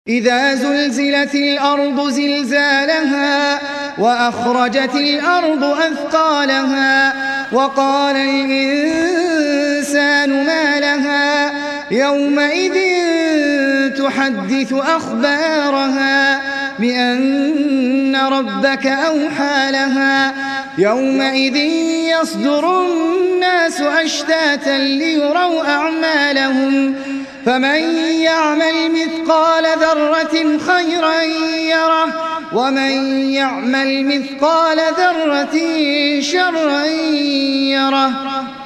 إذا زلزلت الأرض زلزالها وأخرجت الأرض أثقالها وقال الإنسان ما لها يومئذ تحدث أخبارها بأن ربك أوحى لها يومئذ يصدر الناس أشتاتا ليروا أعمالهم فمن يعمل مثقال ذرة خيرا يره ومن يعمل مثقال ذرة شرا يره.